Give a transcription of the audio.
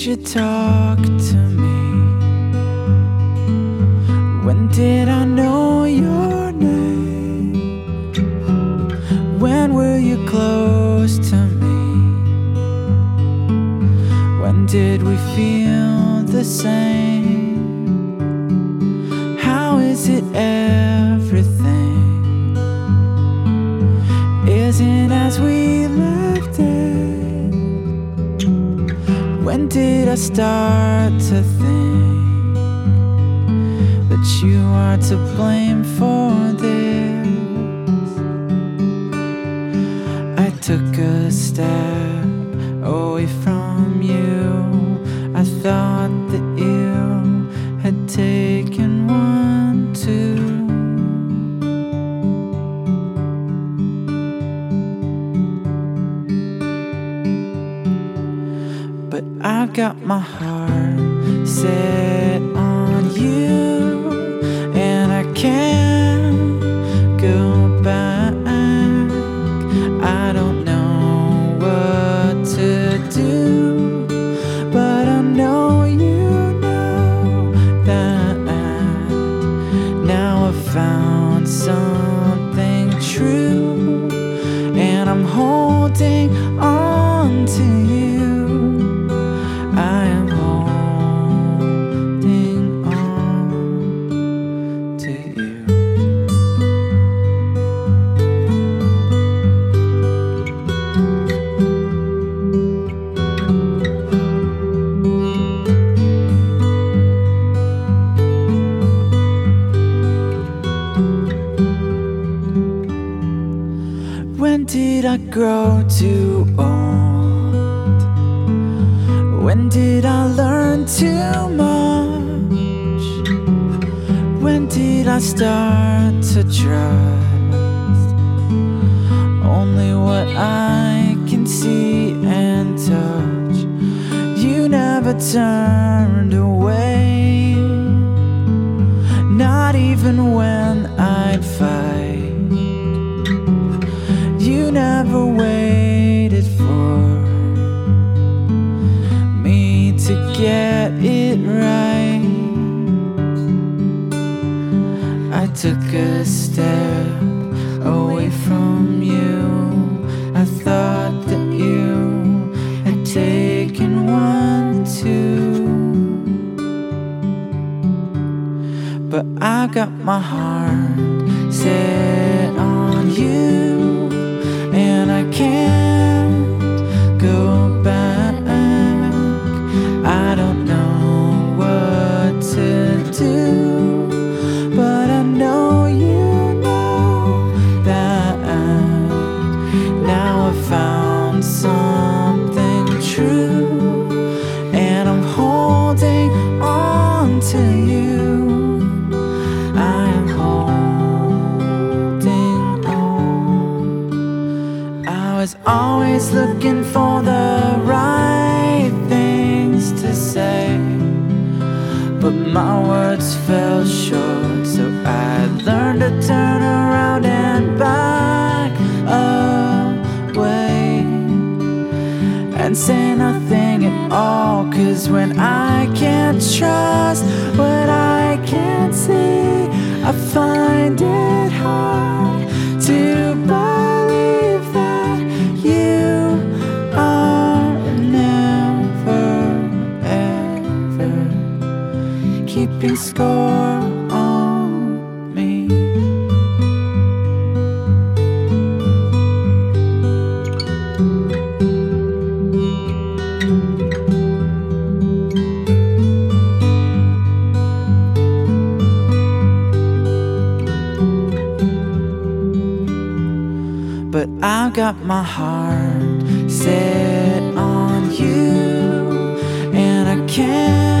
you talk to me? When did I know your name? When were you close to me? When did we feel the same? How is it everything isn't as we left it? When did I start to think that you are to blame for this? I took a step away from you. I thought that you had taken one too. But I've got my heart set on you, and I can't go back. I don't know what to do, but I know you know that now I've found something true, and I'm holding on to you. I am holding on to you. When did I grow too old? When did I learn too much? When did I start to trust only what I can see and touch? You never turned away, not even when I'd fight. You never waited for me to get it right. I took a step away from you. I thought that you had taken one too. But I got my heart set on you, and I can't go back. I don't know what to do, but I know you know that now I've found something true, and I'm holding on to you. I am holding on. I was always looking for the right things to say, but my words fell short, so I learned to turn around and back away and say nothing at all. 'Cause when I can't trust what I can't see, I find it hard to believe that you are never ever keeping score on me. But I've got my heart set on you, and I can't